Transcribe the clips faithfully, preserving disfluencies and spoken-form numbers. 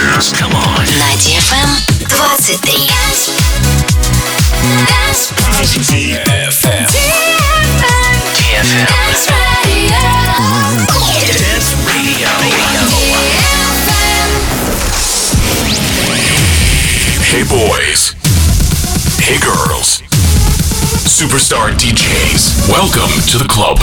Dance. Come on. На ди эф эм двадцать три. ди эф эм. ди эф эм. Dance Radio. Hey boys. Hey girls. Superstar ди джейс. Welcome to the club.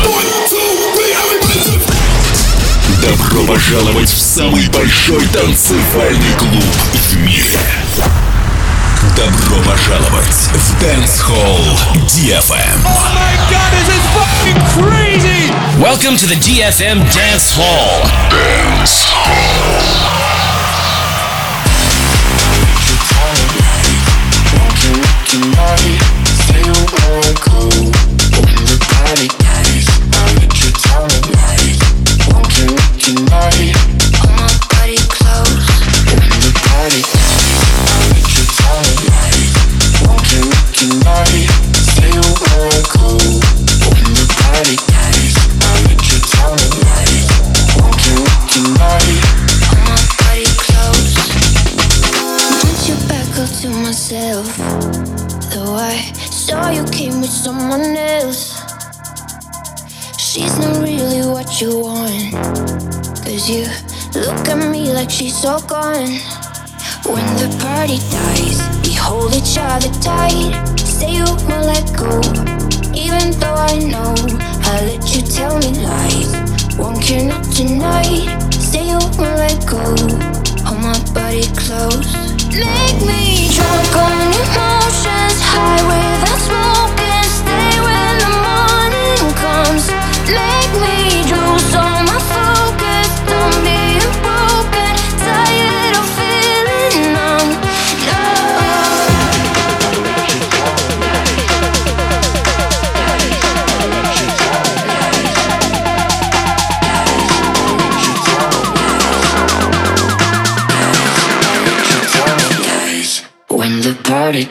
Добро пожаловать в самый большой танцевальный клуб в мире. Добро пожаловать в Dance Hall ди эф эм. Oh my god, this is fucking crazy! Welcome to the ди эф эм Dance Hall. Dance Hall. Though I saw you came with someone else, she's not really what you want. Cause you look at me like she's all gone. When the party dies, we hold each other tight. Say you won't let go, even though I know I let you tell me lies. Won't care not tonight. Say you won't let go. Hold my body close. Make me drunk on emotions, high without smoking. Stay when the morning comes. Make me lose all my focus. Don't be broken, tired of feeling numb. When the party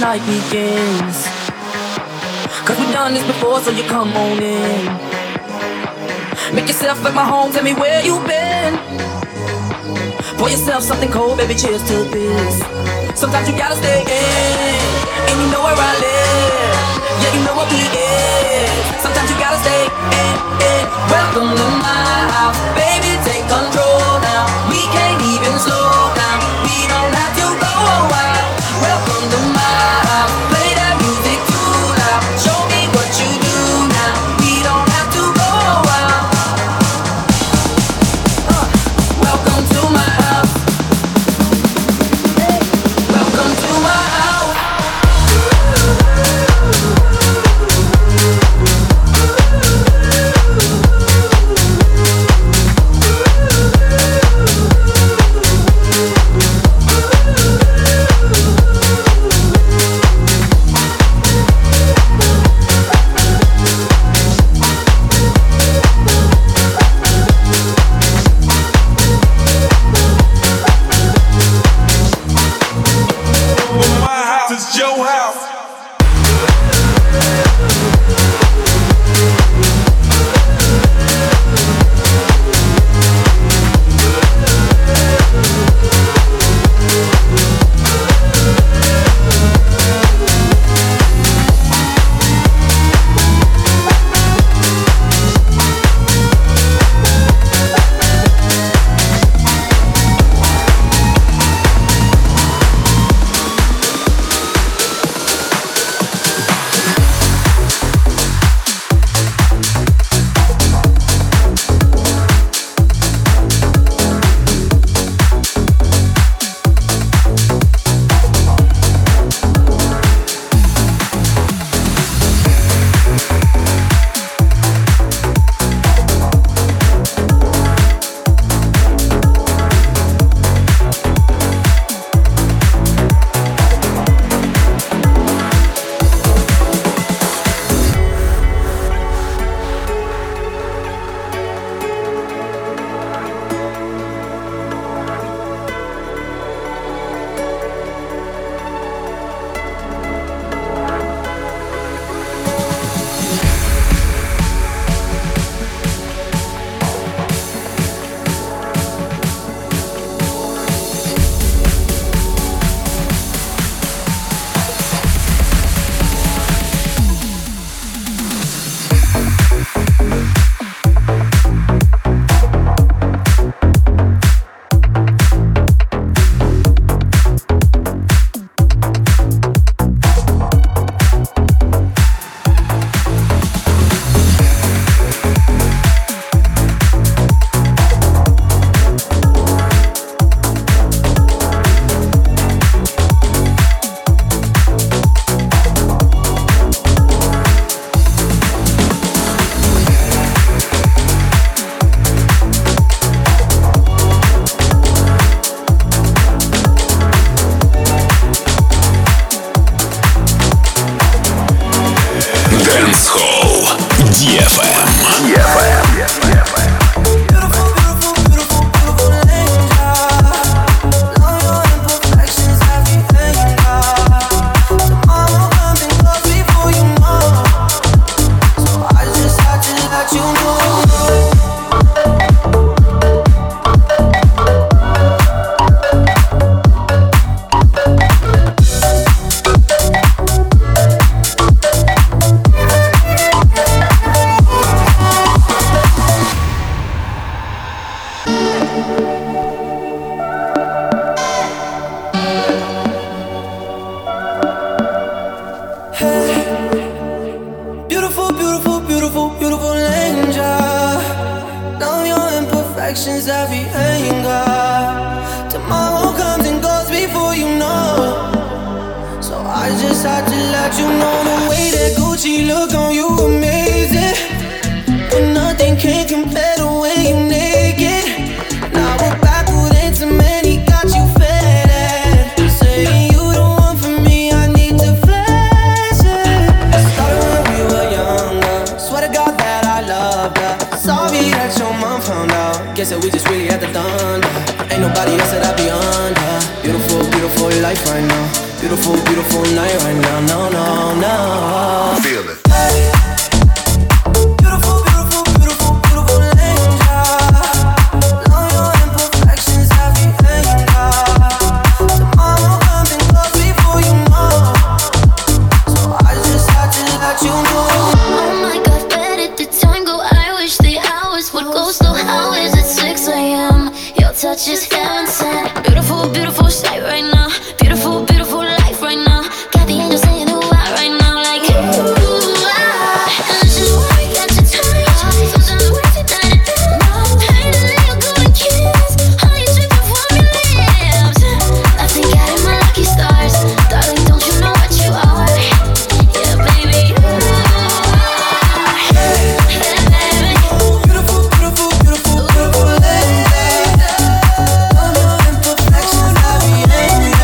night begins. Cause we've done this before, so you come on in. Make yourself at my home, tell me where you've been. Pour yourself something cold, baby, cheers to this. Sometimes you gotta stay in, and you know where I live. Yeah, you know what we is. Sometimes you gotta stay in, in. Welcome to my house, baby, take control now. We can't even slow down, we don't have to go wild. Welcome to my house, play that music too loud. Show me what you do now, we don't have to go wild. uh, Welcome to my house. Welcome to my house. It's your house. Actions, every anger. Tomorrow comes and goes before you know. So I just had to let you know the way that Gucci look on you amazing. But nothing can compare the way you naked. Now we're back with intimate, got you fed. Saying you the one for me, I need to flash it. Started when we were younger. Swear to God that I loved her. Sorry that your mom found out. Guess that we just really had to done. Ain't nobody else that I be under. Beautiful, beautiful life right now. Beautiful, beautiful night right now, no, no, no. Feel it. Beautiful, beautiful, beautiful, beautiful angel. Know your imperfections have me hanging out. Tomorrow comes and goes before you know. So I just had to let you know. Oh my God, where did the time go? I wish the hours would go slow. How is it six a.m.? Your touch is heaven sent. Beautiful, beautiful sight right now. Beautiful, beautiful life right now. Got the angels saying the why right now. Like, ooh, ah. And this is why we got to touch. Sometimes we sit down and dance. Pain to let you go and kiss. Honey dripping from your lips. Nothing got in my lucky stars. Darling, don't you know what you are? Yeah, baby. Ooh, ah. Yeah, baby. Beautiful, beautiful, beautiful, beautiful lady. All your imperfections have me angry.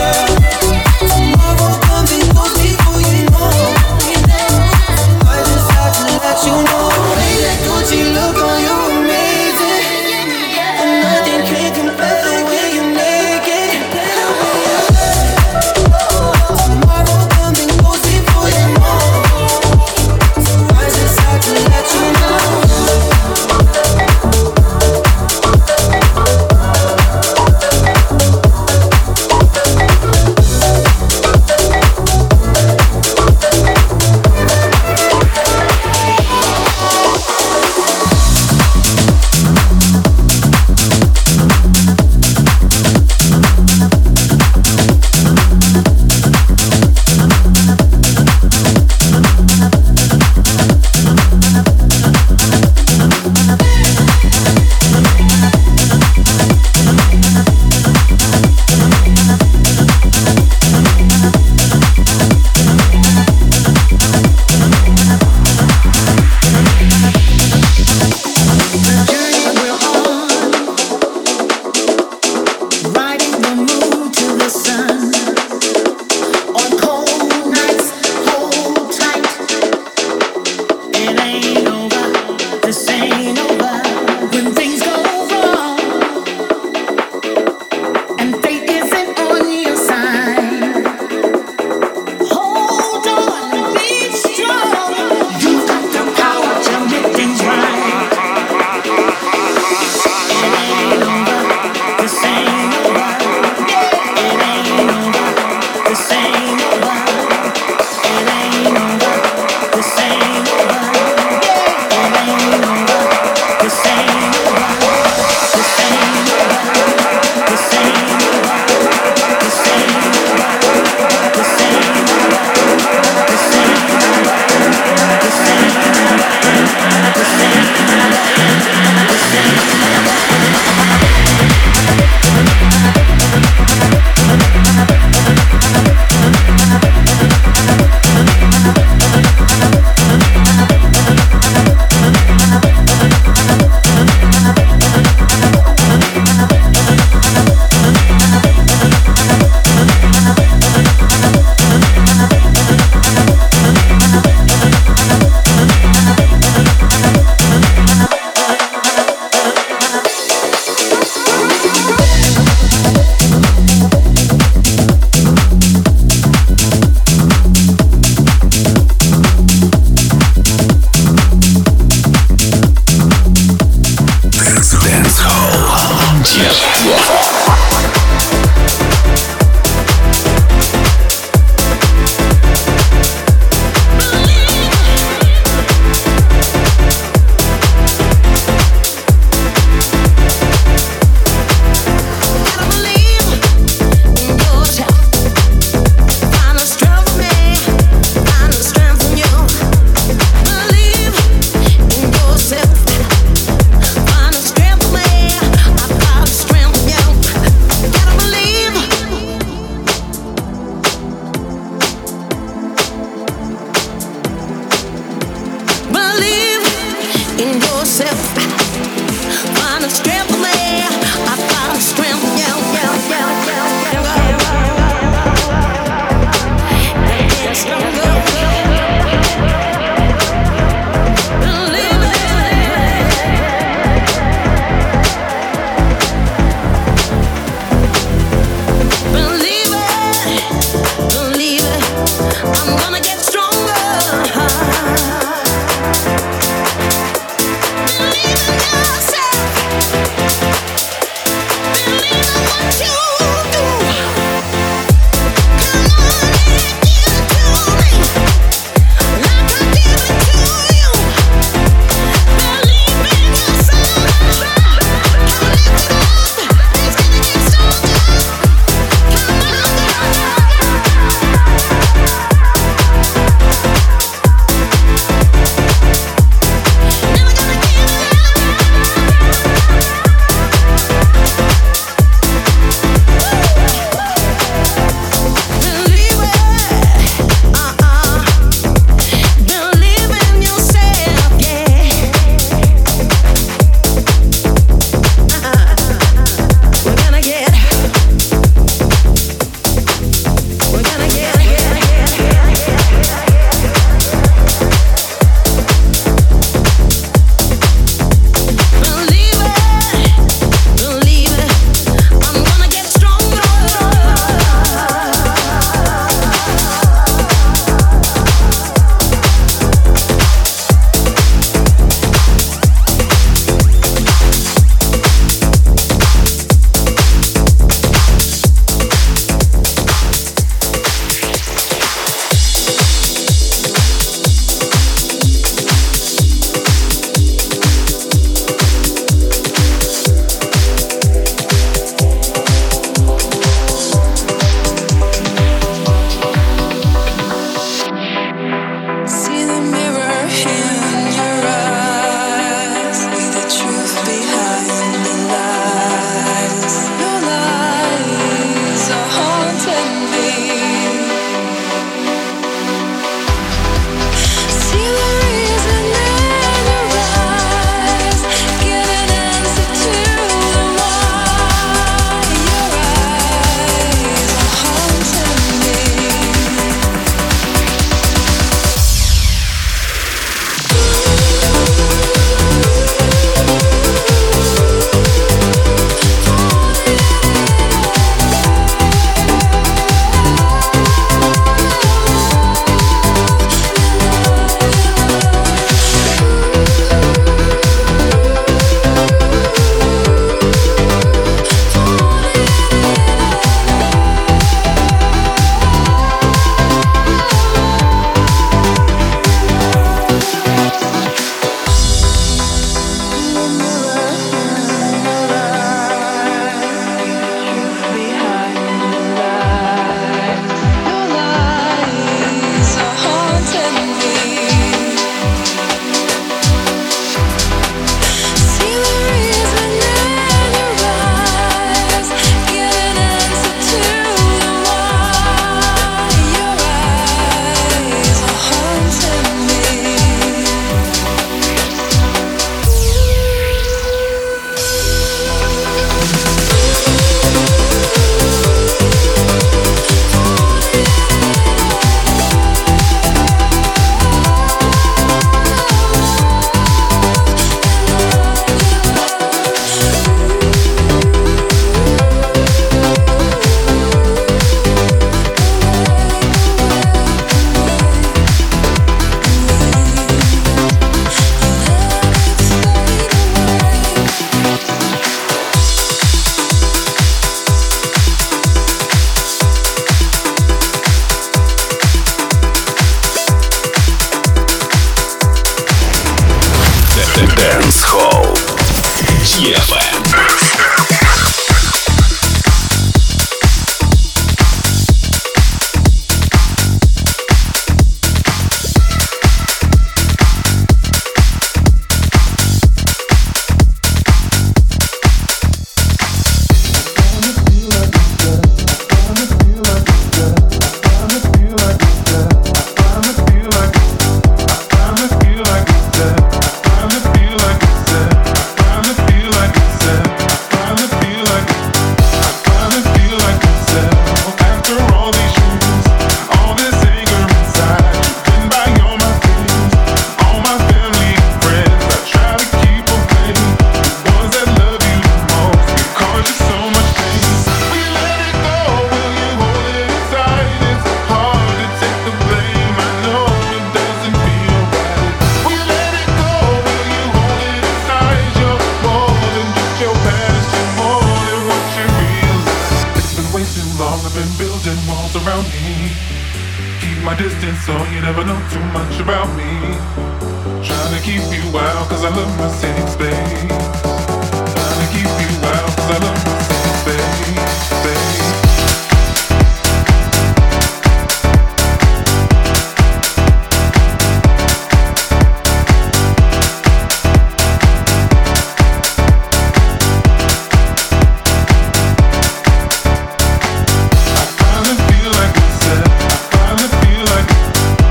Dance Hall ди эф эм.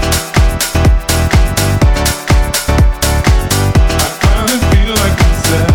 Feel like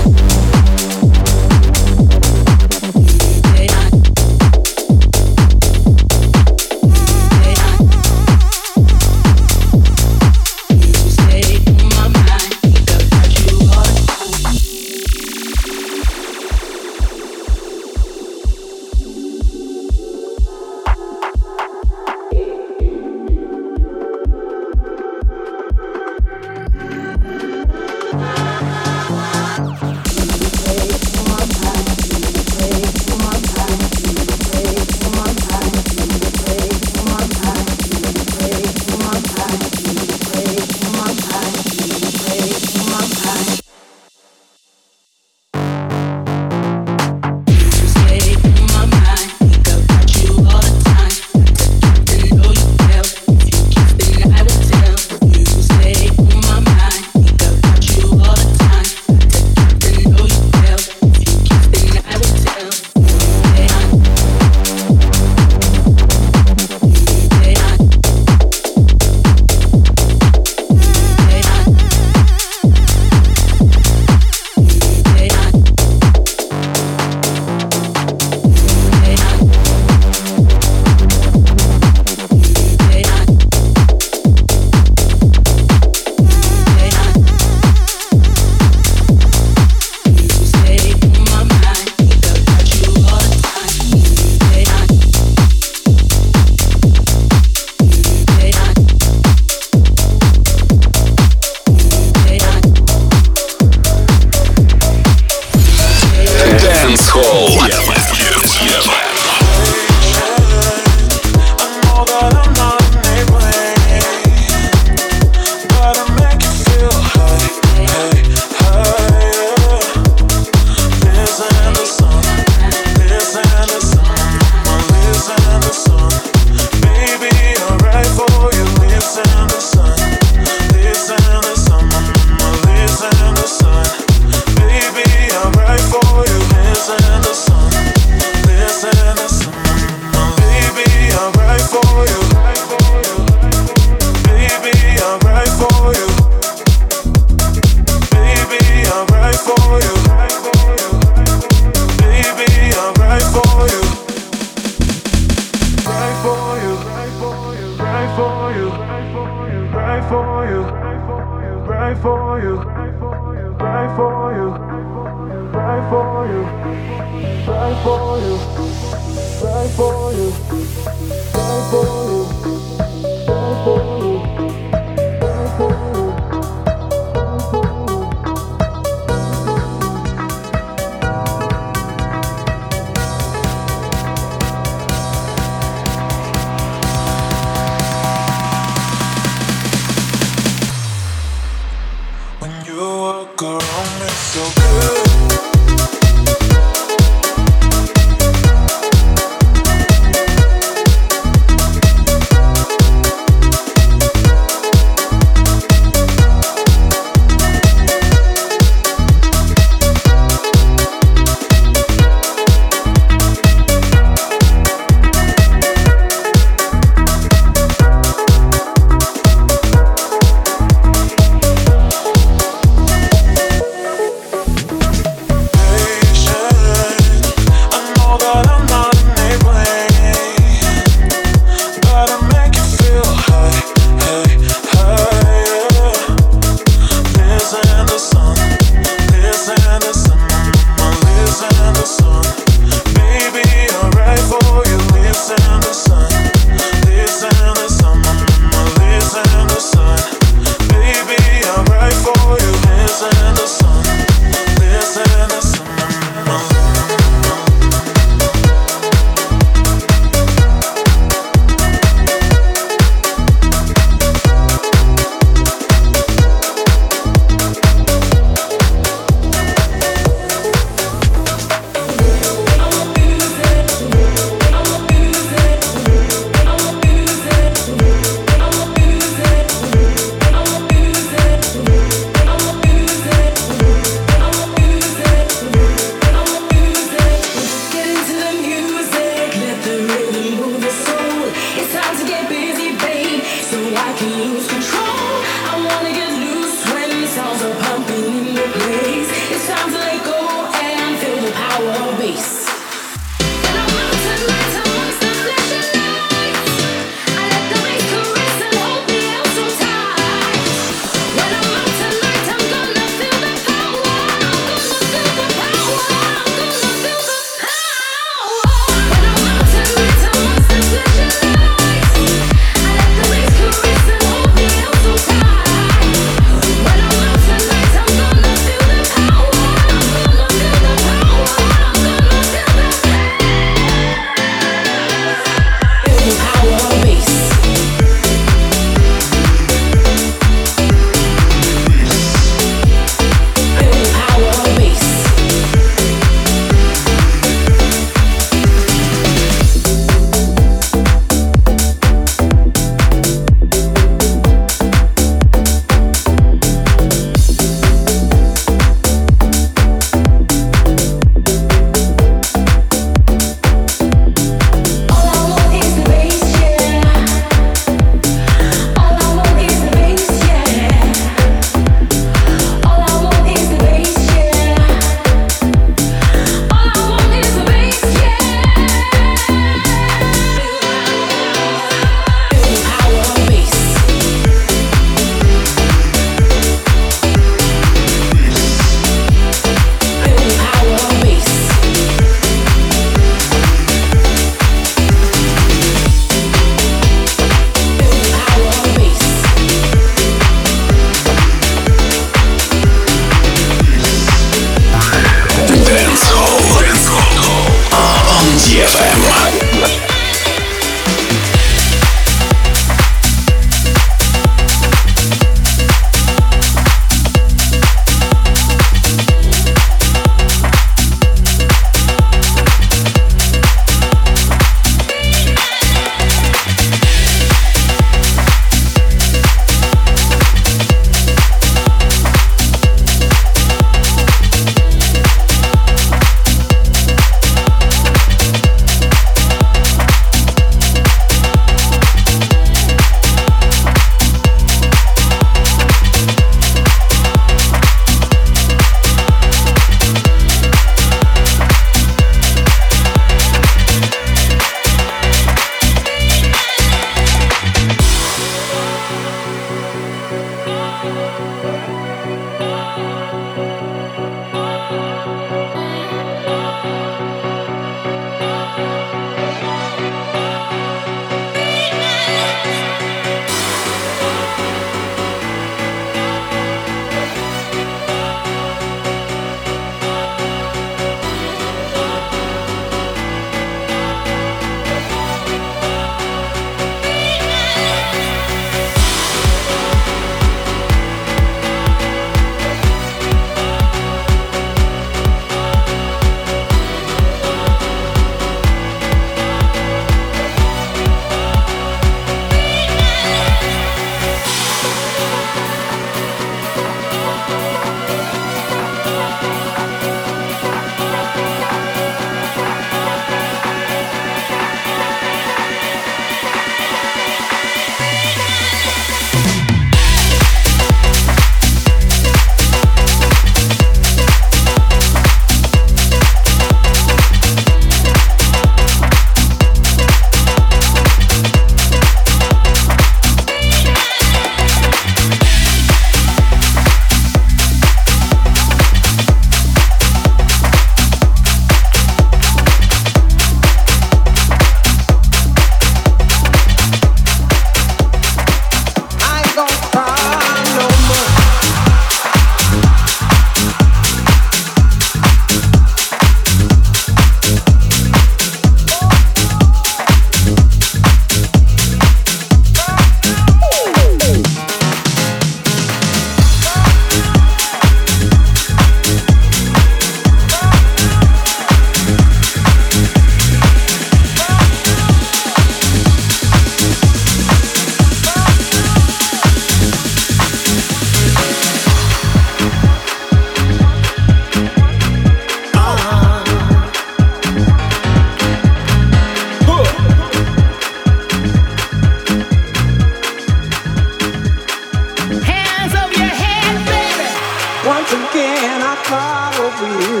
cry over you.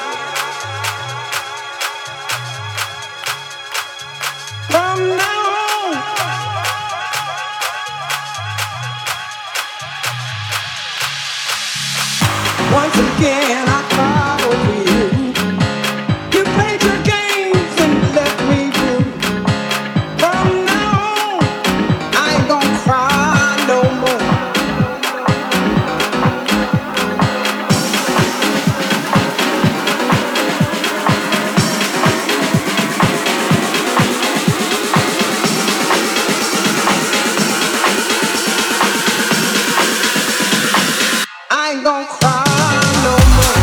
From now on, once again I cry over you. You played your games and left me blue. From now on, I ain't gonna cry no more. I ain't gonna cry no more.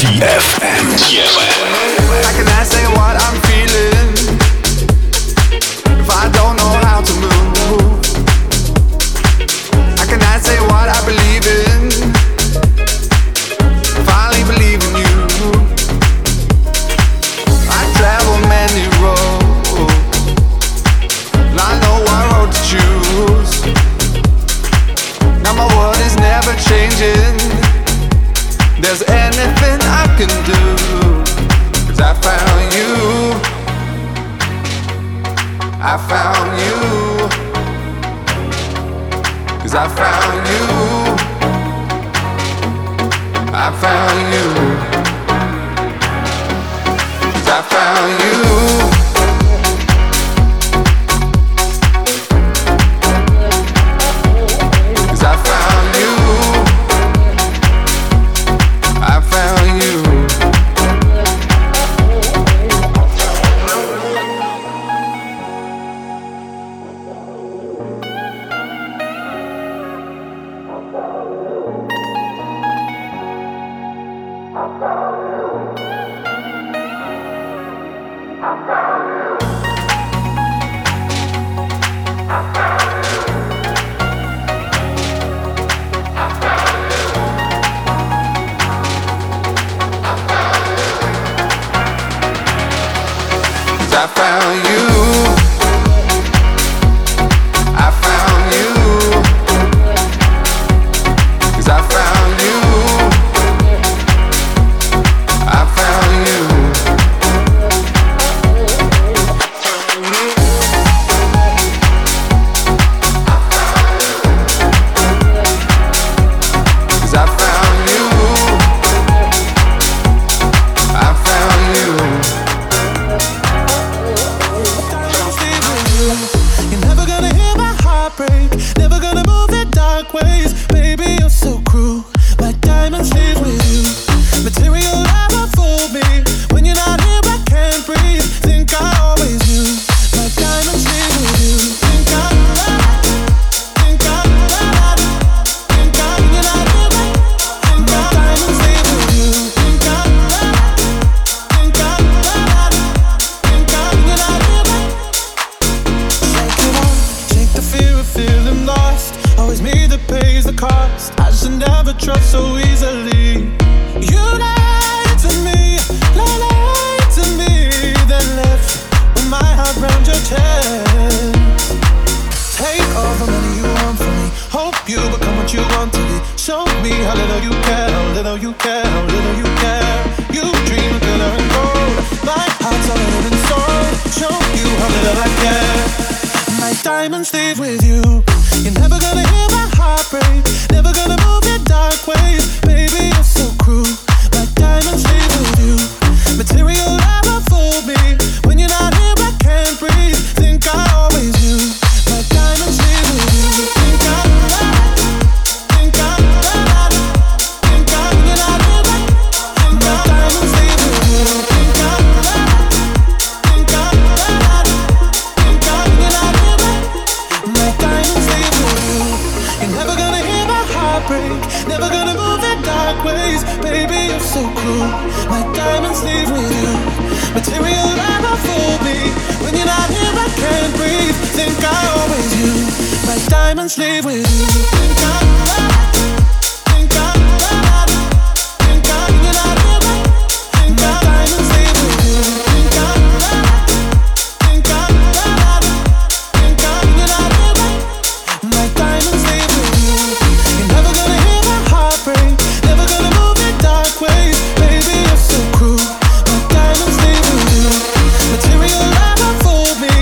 ди эф эм. How can I say what I'm feeling if I don't know how to move? How can I say what I believe in if I only believe in you? I travel many roads and I know what road to choose. Now my world is never changing. There's anything I can do, 'cause I found you. I found you. 'Cause I found you. I found you. 'Cause I found you. I found you. I found you. 'Cause I found you. I found you.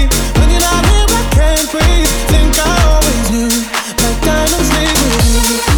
Think I always knew, like diamonds leave with you.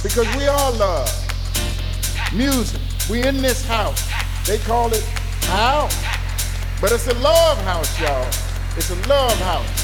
because we all love music. We in this house. They call it house, but it's a love house, y'all. It's a love house.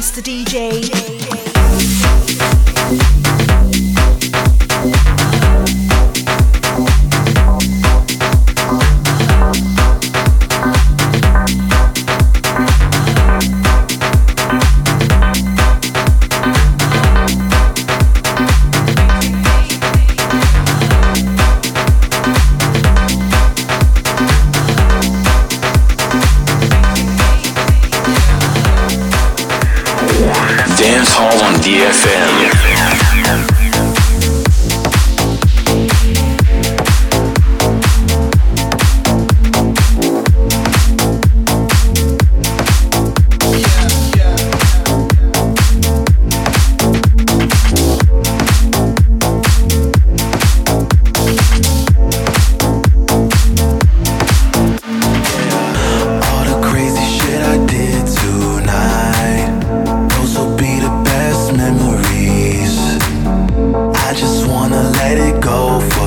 Mister D J. Dance Hall on D F M. Memories. I just wanna let it go for